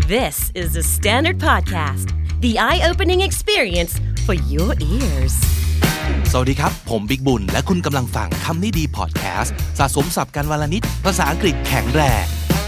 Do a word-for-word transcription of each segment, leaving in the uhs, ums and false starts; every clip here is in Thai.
This is the Standard Podcast, the eye-opening experience for your ears. สวัสดีครับผมบิ๊กบุญและคุณกำลังฟังคำนี้ดีพอดแคสต์สะสมศัพท์กันวลนิดภาษาอังกฤษแข็งแรง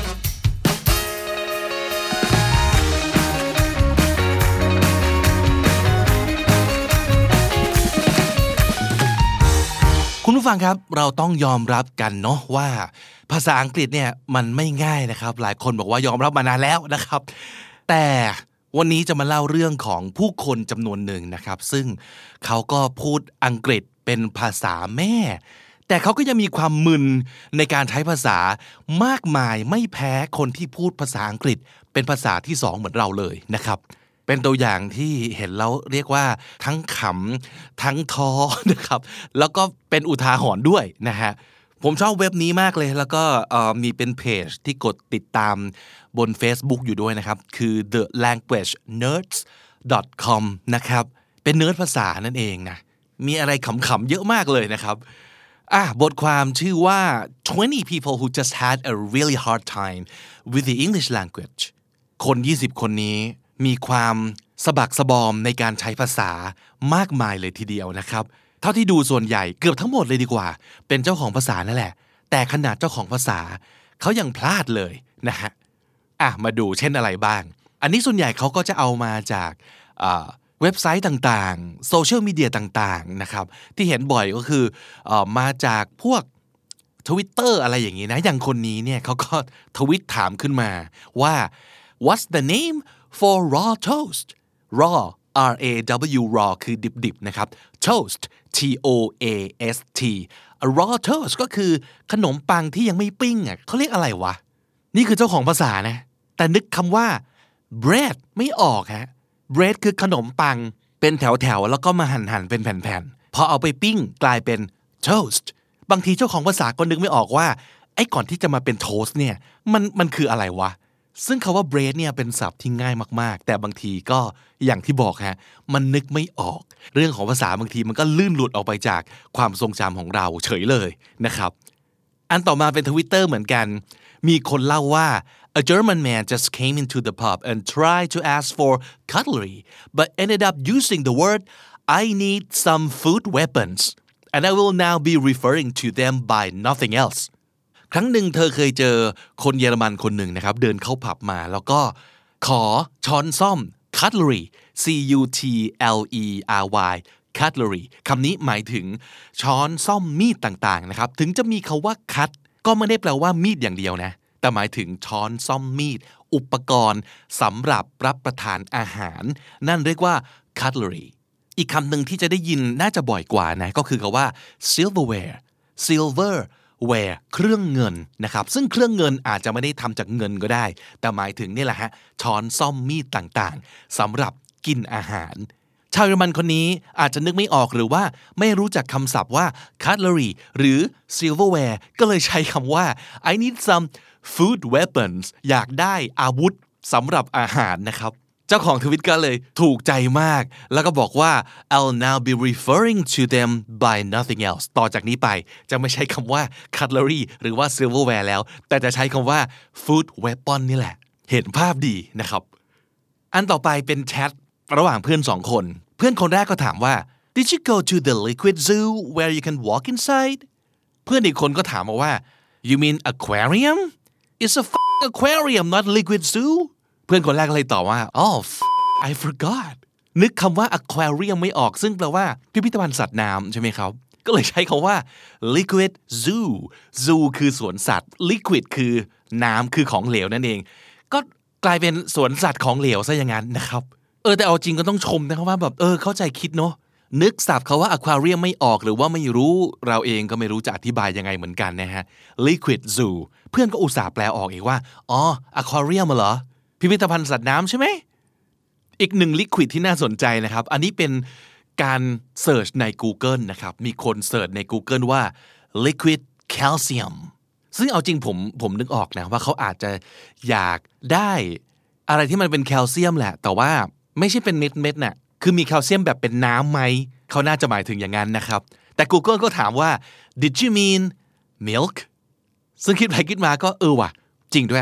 คุณผู้ฟังครับเราต้องยอมรับกันเนาะว่าภาษาอังกฤษเนี่ยมันไม่ง่ายนะครับหลายคนบอกว่ายอมรับมานานแล้วนะครับแต่วันนี้จะมาเล่าเรื่องของผู้คนจำนวนหนึ่งนะครับซึ่งเขาก็พูดอังกฤษเป็นภาษาแม่แต่เขาก็ยังมีความมึนในการใช้ภาษามากมายไม่แพ้คนที่พูดภาษาอังกฤษเป็นภาษาที่สองเหมือนเราเลยนะครับเป็นตัวอย่างที่เห็นแล้วเรียกว่าทั้งขำทั้งท้อนะครับแล้วก็เป็นอุทาหรณ์ด้วยนะฮะผมชอบเว็บนี้มากเลยแล้วก็มีเป็นเพจที่กดติดตามบน Facebook อยู่ด้วยนะครับคือ the language nerds dot com นะครับเป็นเนิร์ดภาษานั่นเองนะมีอะไรขำๆเยอะมากเลยนะครับอ่ะบทความชื่อว่า twenty people who just had a really hard time with the English language คนยี่สิบคนนี้มีความสะบักสะบอมในการใช้ภาษามากมายเลยทีเดียวนะครับเท่าที่ดูส่วนใหญ่เกือบทั้งหมดเลยดีกว่าเป็นเจ้าของภาษานั่นแหละแต่ขนาดเจ้าของภาษาเขายังพลาดเลยนะฮะอ่ะมาดูเช่นอะไรบ้างอันนี้ส่วนใหญ่เขาก็จะเอามาจากเว็บไซต์ต่างๆโซเชียลมีเดียต่างๆนะครับที่เห็นบ่อยก็คือเอ่อมาจากพวก Twitter อะไรอย่างนี้นะอย่างคนนี้เนี่ยเขาก็ทวิตถามขึ้นมาว่า what's the name for raw toast raw R A W raw คือดิบๆนะครับ toast T O A S T a raw toast ก็คือขนมปังที่ยังไม่ปิ้งอ่ะเขาเรียกอะไรวะนี่คือเจ้าของภาษานะแต่นึกคำว่า bread ไม่ออกฮะ bread คือขนมปังเป็นแถวๆแล้วก็มาหั่นๆเป็นแผ่นๆพอเอาไปปิ้งกลายเป็น toast บางทีเจ้าของภาษาก็นึกไม่ออกว่าไอ้ก่อนที่จะมาเป็น toast เนี่ยมันมันคืออะไรวะซึ่งคำว่า bread เนี่ยเป็นศัพท์ที่ง่ายมากๆแต่บางทีก็อย่างที่บอกฮะมันนึกไม่ออกเรื่องของภาษาบางทีมันก็ลื่นหลุดออกไปจากความทรงจำของเราเฉยเลยนะครับอันต่อมาเป็น Twitter เหมือนกันมีคนเล่าว่า a German man just came into the pub and tried to ask for cutlery but ended up using the word I need some food weapons and I will now be referring to them by nothing elseครั้งหนึ่งเธอเคยเจอคนเยอรมันคนหนึ่งนะครับเดินเข้าผับมาแล้วก็ขอช้อนซ่อม cutlery C U T L E R Y cutlery คำนี้หมายถึงช้อนซ่อมมีดต่างๆนะครับถึงจะมีคาว่า cut ก็ไม่ได้แปลว่ามีดอย่างเดียวนะแต่หมายถึงช้อนซ่อมมีดอุปกรณ์สำหรับรับประทานอาหารนั่นเรียกว่า cutlery อีกคำหนึ่งที่จะได้ยินน่าจะบ่อยกว่านะก็คือคำว่า silverware silver ware เครื่องเงินนะครับซึ่งเครื่องเงินอาจจะไม่ได้ทำจากเงินก็ได้แต่หมายถึงนี่แหละฮะช้อนซ่อมมีดต่างๆสำหรับกินอาหารชาวเยอรมันคนนี้อาจจะนึกไม่ออกหรือว่าไม่รู้จักคำศัพท์ว่า cutlery หรือ silverware ก็เลยใช้คำว่า I need some food weapons อยากได้อาวุธสำหรับอาหารนะครับเจ้าของทวิตก็เลยถูกใจมากแล้วก็บอกว่า I'll now be referring to them by nothing else ต่อจากนี้ไปจะไม่ใช้คำว่า cutlery หรือว่า silverware แล้วแต่จะใช้คำว่า food weapon นี่แหละเห็นภาพดีนะครับอันต่อไปเป็นแชทระหว่างเพื่อนสองคนเพื่อนคนแรกก็ถามว่า Did you go to the liquid zoo where you can walk inside เพื่อนอีกคนก็ถามมาว่า You mean aquarium? It's a f***ing aquarium not liquid zooเพื่อนคนแรกเลยตอบว่า Oh I forgot นึกคำว่า aquarium ไม่ออกซึ่งแปลว่าพิพิธภัณฑ์สัตว์น้ำใช่ไหมครับก็เลยใช้คำว่า liquid zoo zoo คือสวนสัตว์ liquid คือน้ำคือของเหลวนั่นเองก็กลายเป็นสวนสัตว์ของเหลวซะอย่างนั้นนะครับเออแต่เอาจริงก็ต้องชมนะครับว่าแบบเออเข้าใจคิดเนาะนึกศัพท์เขาว่า aquarium ไม่ออกหรือว่าไม่รู้เราเองก็ไม่รู้จะอธิบายยังไงเหมือนกันนะฮะ liquid zoo เพื่อนก็อุตส่าห์แปลออกอีกว่าอ๋อ aquarium เหรอพิพิธภัณฑ์สัตว์น้ำใช่ไหมอีกหนึ่ง liquid ที่น่าสนใจนะครับอันนี้เป็นการเสิร์ชใน Google นะครับมีคนเสิร์ชใน Google ว่า liquid calcium ซึ่งเอาจริงผมผมนึกออกนะว่าเขาอาจจะอยากได้อะไรที่มันเป็นแคลเซียมแหละแต่ว่าไม่ใช่เป็นเม็ดๆน่ะคือมีแคลเซียมแบบเป็นน้ำไหมเขาน่าจะหมายถึงอย่างนั้นนะครับแต่ Google ก็ถามว่า did you mean milk ซึ่งคิดไปคิดมาก็เออว่ะจริงด้วย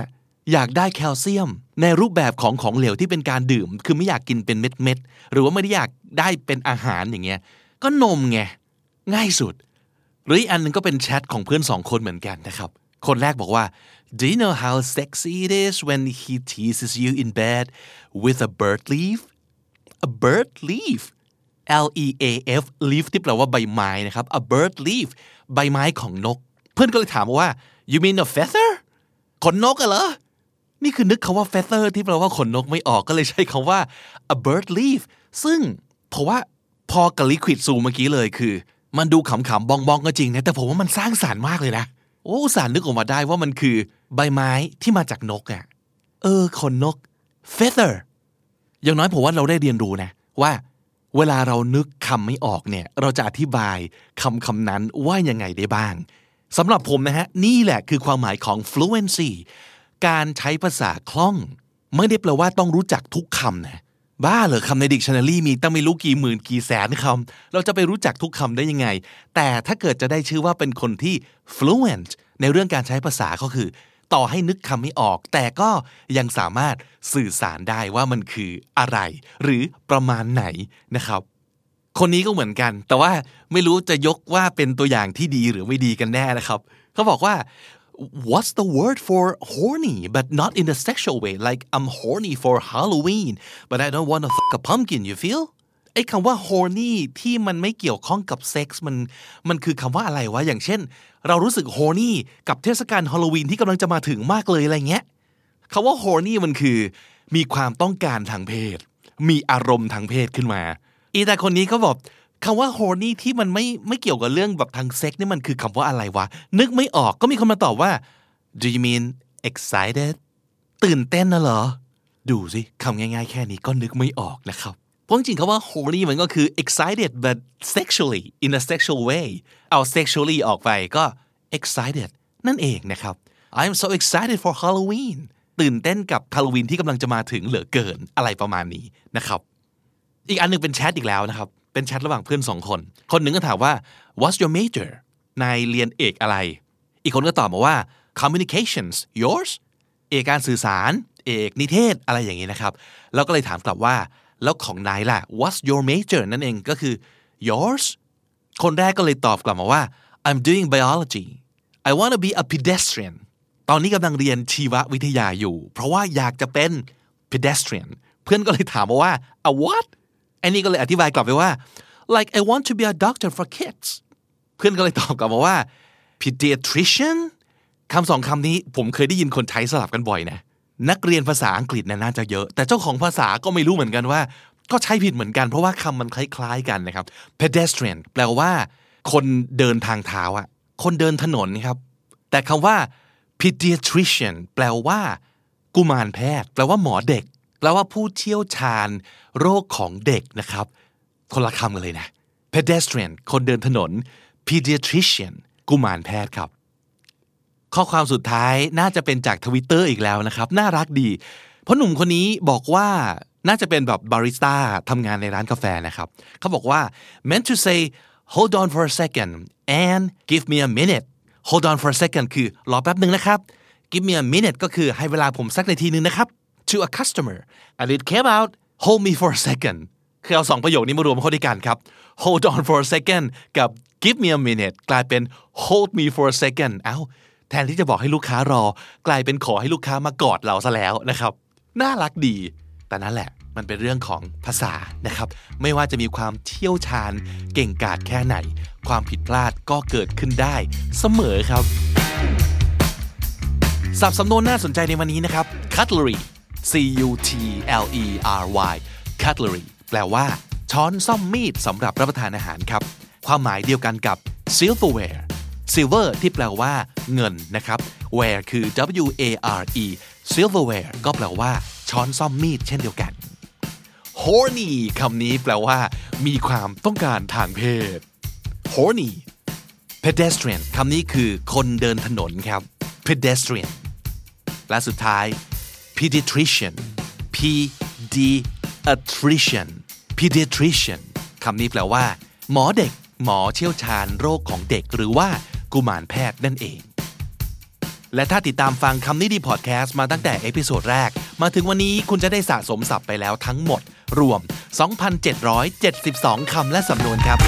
อยากได้แคลเซียมในรูปแบบของของเหลวที่เป็นการดื่มคือไม่อยากกินเป็นเม็ดๆหรือว่าไม่ได้อยากได้เป็นอาหารอย่างเงี้ยก็นมไงง่ายสุดหรืออีกอันนึงก็เป็นแชทของเพื่อนสองคนเหมือนกันนะครับคนแรกบอกว่า Do you know how sexy it is when he teases you in bed with a bird leaf a bird leaf L E A F leaf ที่แปลว่าใบไม้นะครับ a bird leaf ใบไม้ของนกเพื่อนก็เลยถามว่า you mean a feather ขนนกอะเหรอนี่คือนึกคำว่า feather ที่แปลว่าขนนกไม่ออกก็เลยใช้คำว่า a bird leaf ซึ่งเพราะว่าพอกับ liquid ซูเมื่อกี้เลยคือมันดูขำๆบองๆก็จริงนะแต่ผมว่ามันสร้างสรรค์มากเลยนะโอ้สารนึกออกมาได้ว่ามันคือใบไม้ที่มาจากนกอ่ะเออขนนก feather อย่างน้อยผมว่าเราได้เรียนรู้นะว่าเวลาเรานึกคำไม่ออกเนี่ยเราจะอธิบายคำคำนั้นว่ายังไงได้บ้างสำหรับผมนะฮะนี่แหละคือความหมายของ fluency การใช้ภาษาคล่องไม่ได้แปลว่าต้องรู้จักทุกคำนะบ้าเหรอคำใน dictionary มีตั้งไม่รู้กี่หมื่นกี่แสนคำเราจะไปรู้จักทุกคำได้ยังไงแต่ถ้าเกิดจะได้ชื่อว่าเป็นคนที่ fluent ในเรื่องการใช้ภาษาก็คือต่อให้นึกคำไม่ออกแต่ก็ยังสามารถสื่อสารได้ว่ามันคืออะไรหรือประมาณไหนนะครับคนนี้ก็เหมือนกันแต่ว่าไม่รู้จะยกว่าเป็นตัวอย่างที่ดีหรือไม่ดีกันแน่นะครับเขาบอกว่า What's the word for horny but not in a sexual way like I'm horny for Halloween but I don't want to fuck a pumpkin you feel ไอ้คำว่า horny ที่มันไม่เกี่ยวข้องกับเซ็กส์มันมันคือคำว่าอะไรวะอย่างเช่นเรารู้สึก horny กับเทศกาลฮาโลวีนที่กำลังจะมาถึงมากเลยอะไรเงี้ยคำว่า horny มันคือมีความต้องการทางเพศมีอารมณ์ทางเพศขึ้นมาอีแต่คนนี้เขาบอกคำว่า horny ที่มันไม่ไม่เกี่ยวกับเรื่องแบบทางเซ็กนี่มันคือคำว่าอะไรวะนึกไม่ออกก็มีคนมาตอบว่า Do you mean excited ตื่นเต้นนะเหรอดูสิคำง่ายๆแค่นี้ก็นึกไม่ออกนะครับเพราะจริงๆคำว่า horny มันก็คือ excited but sexually in a sexual way เอา sexually ออกไปก็ excited นั่นเองนะครับ I'm so excited for Halloween ตื่นเต้นกับฮาโลวีนที่กำลังจะมาถึงเหลือเกินอะไรประมาณนี้นะครับอีกอันนึงเป็นแชทอีกแล้วนะครับเป็นแชทระหว่างเพื่อนสองคนคนหนึ่งก็ถามว่า What's your major นายเรียนเอกอะไรอีกคนก็ตอบมาว่า Communications yours เอกการสื่อสารเอกนิเทศอะไรอย่างนี้นะครับแล้วก็เลยถามกลับว่าแล้วของนายล่ะ What's your major นั่นเองก็คือ yours คนแรกก็เลยตอบกลับมาว่า I'm doing biology I want to be a pedestrian ตอนนี้กำลังเรียนชีววิทยาอยู่เพราะว่าอยากจะเป็น pedestrian เพื่อนก็เลยถามมาว่า a what ไอ้นี่ก็เลยอธิบายกลับไปว่า like I want to be a doctor for kids เพื่อนก็เลยตอบกลับมาว่า pediatrician คำสองคำนี้ผมเคยได้ยินคนใช้สลับกันบ่อยนะนักเรียนภาษาอังกฤษน่าจะเยอะแต่เจ้าของภาษาก็ไม่รู้เหมือนกันว่าก็ใช้ผิดเหมือนกันเพราะว่าคำมันคล้ายๆกันนะครับ pedestrian แปลว่าคนเดินทางเท้าอะคนเดินถนนครับแต่คำว่า pediatrician แปลว่ากุมารแพทย์แปลว่าหมอเด็กแปลว่าผู้เชี่ยวชาญโรคของเด็กนะครับคนละคำกันเลยนะ pedestrian คนเดินถนน pediatrician กุมารแพทย์ครับข้อความสุดท้ายน่าจะเป็นจาก Twitter อีกแล้วนะครับน่ารักดีเพราะหนุ่มคนนี้บอกว่าน่าจะเป็นแบบบาริสต้าทำงานในร้านกาแฟนะครับเขาบอกว่า meant to say hold on for a second and give me a minute hold on for a second คือรอแป๊บนึงนะครับ give me a minute ก็คือให้เวลาผมสักนาทีนึงนะครับ to a customer and it came out hold me for a second คือเอาสองประโยคนี้มารวมเข้าด้วยกันครับ hold on for a second กับ give me a minute กลายเป็น hold me for a second เอ้าแทนที่จะบอกให้ลูกค้ารอกลายเป็นขอให้ลูกค้ามากอดเราซะแล้วนะครับน่ารักดีแต่นั่นแหละมันเป็นเรื่องของภาษานะครับไม่ว่าจะมีความเชี่ยวชาญเก่งกาจแค่ไหนความผิดพลาดก็เกิดขึ้นได้เสมอครับศัพท์สำนวนน่าสนใจในวันนี้นะครับ cutlery C U T L E R Y cutlery แปลว่าช้อนส้อมมีดสำหรับรับประทานอาหารครับความหมายเดียวกันกับ silverware silver ที่แปลว่าเงินนะครับ ware คือ W A R E silverware ก็แปลว่าช้อนส้อมมีดเช่นเดียวกัน horny คำนี้แปลว่ามีความต้องการทางเพศ horny pedestrian คำนี้คือคนเดินถนนครับ pedestrian และสุดท้าย pediatrician P D atrician pediatrician คำนี้แปลว่าหมอเด็กหมอเชี่ยวชาญโรคของเด็กหรือว่ากุมารแพทย์นั่นเองและถ้าติดตามฟังคำนี้ดีพอดแคสต์มาตั้งแต่เอพิโซดแรกมาถึงวันนี้คุณจะได้สะสมศัพท์ไปแล้วทั้งหมดรวม สองพันเจ็ดร้อยเจ็ดสิบสอง คำและสำนวนครับ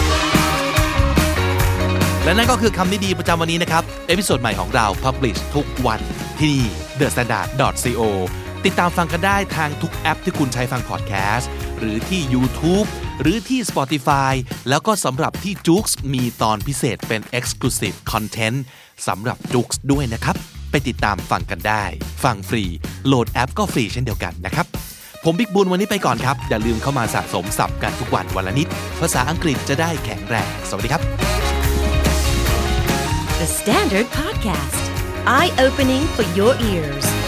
และนั่นก็คือคำนี้ดีประจำวันนี้นะครับเอพิโซดใหม่ของเรา Publish ทุกวันที่นี่ เดอะสแตนดาร์ด ดอท ซี โอ ติดตามฟังกันได้ทางทุกแอปที่คุณใช้ฟังพอดแคสต์หรือที่ YouTube หรือที่ Spotify แล้วก็สำหรับที่ Joox มีตอนพิเศษเป็น Exclusive Content สำหรับ Joox ด้วยนะครับไปติดตามฟังกันได้ฟังฟรีโหลดแอปก็ฟรีเช่นเดียวกันนะครับผมบิ๊กบุญวันนี้ไปก่อนครับอย่าลืมเข้ามาสะสมศัพท์กันทุกวันวันละนิดภาษาอังกฤษจะได้แข็งแรงสวัสดีครับ The Standard Podcast Eye Opening for Your Ears